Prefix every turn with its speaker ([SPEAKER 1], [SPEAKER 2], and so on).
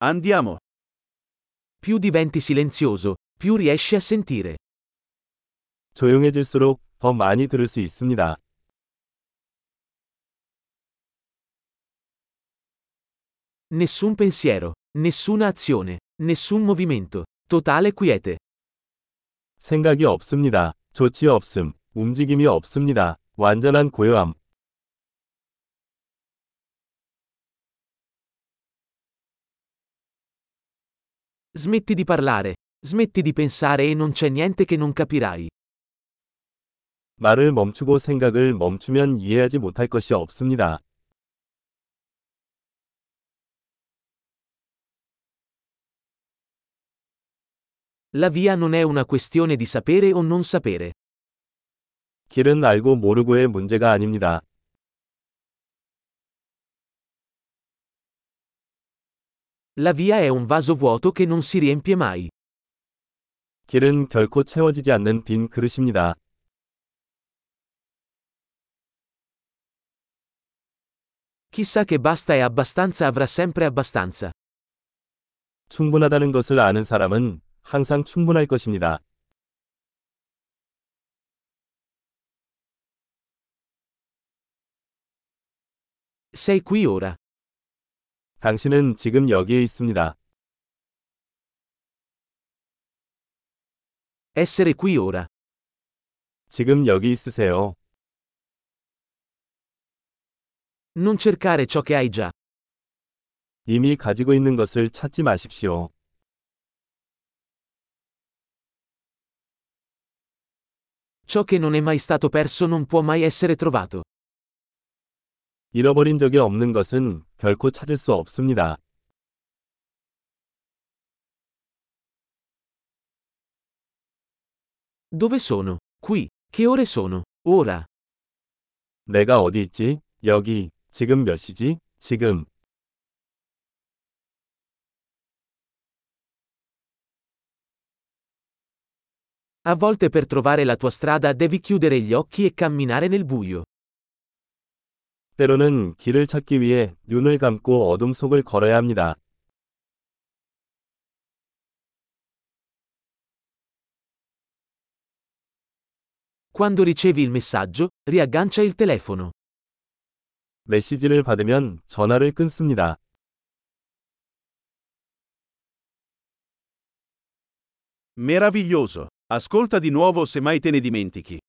[SPEAKER 1] Andiamo.
[SPEAKER 2] Più diventi silenzioso, più riesci a sentire.
[SPEAKER 3] 조용해질수록 더 많이 들을 수 있습니다.
[SPEAKER 2] Nessun pensiero, nessuna azione, nessun movimento. Totale quiete.
[SPEAKER 3] 생각이 없습니다. 조치 없음, 움직임이 없습니다. 완전한 고요함.
[SPEAKER 2] Smetti di parlare, smetti di pensare e non c'è niente che non capirai.
[SPEAKER 3] 말을 멈추고 생각을 멈추면 이해하지 못할 것이 없습니다.
[SPEAKER 2] La via non è una questione di sapere o non sapere.
[SPEAKER 3] 길은 알고 모르고의 문제가 아닙니다.
[SPEAKER 2] La via è un vaso vuoto che non si riempie mai.
[SPEAKER 3] 길은 결코 채워지지 않는 빈 그릇입니다.
[SPEAKER 2] Chi sa che basta e abbastanza avrà sempre abbastanza.
[SPEAKER 3] 충분하다는 것을 아는 사람은 항상 충분할 것입니다.
[SPEAKER 2] Sei qui ora.
[SPEAKER 3] 당신은 지금 여기에 있습니다.
[SPEAKER 2] Essere qui ora.
[SPEAKER 3] 지금 여기 있으세요.
[SPEAKER 2] Non cercare ciò che hai già.
[SPEAKER 3] 이미 가지고 있는 것을 찾지 마십시오.
[SPEAKER 2] Ciò che non è mai stato perso non può mai essere trovato.
[SPEAKER 3] 잃어버린 적이 없는 것은 결코 찾을 수 없습니다.
[SPEAKER 2] Dove sono? Qui. Che ore sono? Ora.
[SPEAKER 3] 내가 어디 있지? 여기. 지금 몇 시지? 지금.
[SPEAKER 2] A volte per trovare la tua strada devi chiudere gli occhi e camminare nel buio.
[SPEAKER 3] 때로는 길을 찾기 위해 눈을 감고 어둠 속을 걸어야 합니다.
[SPEAKER 2] Quando ricevi il messaggio, riaggancia il telefono.
[SPEAKER 3] 메시지를 받으면 전화를 끊습니다.
[SPEAKER 1] Meraviglioso. Ascolta di nuovo se mai te ne dimentichi.